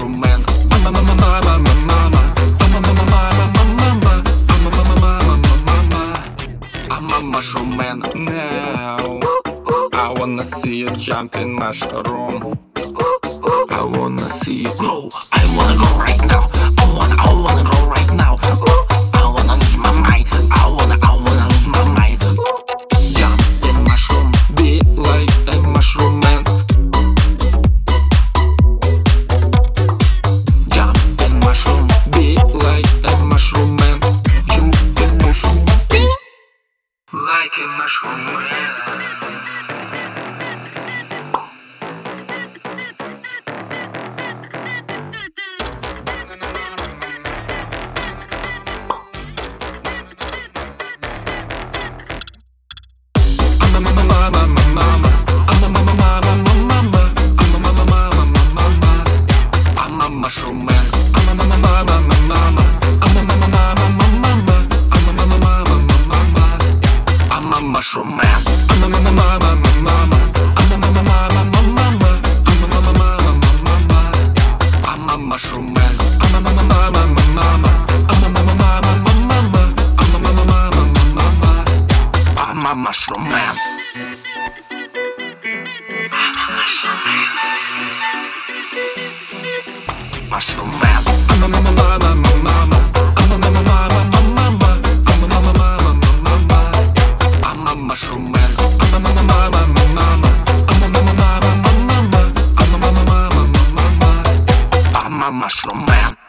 mushroom man. I'm a mama, mama, mama. I'm a mama, mama, mama. I'm a mama, mama, mama. I'm a mushroom man now. I wanna see you jump in mushroom. I wanna see you grow. I wanna go right now. I wanna grow right now. I wanna lose my mind. I wanna lose my mind. Jump in mushroom, be like a mushroom man. Jump in mushroom, be like a mushroom man. Jump in mushroom, be like a mushroom man. Mushroom man. I'm a mama, mama, mama. I'm a mama, mama, mama. I'm a mama, mama, mama. I'm a mushroom man. I'm a mama, mama, mama. I'm a mama, mama, mama. I'm a mama, mama, mama. I'm a mushroom man. I'm a mama, mama, mama. I'm a mama, mama, mama. I'm a mama, mama, mama. I'm a mushroom man. Mushroom man. I'm a mama, mama, mama. I'm a mama, mama, mama. I'm a mama, mama, mama. I'm a mushroom man. I'm a mama, mama, mama. I'm a mama, mama, mama. I'm a mama, mama, mama. I'm a mushroom man.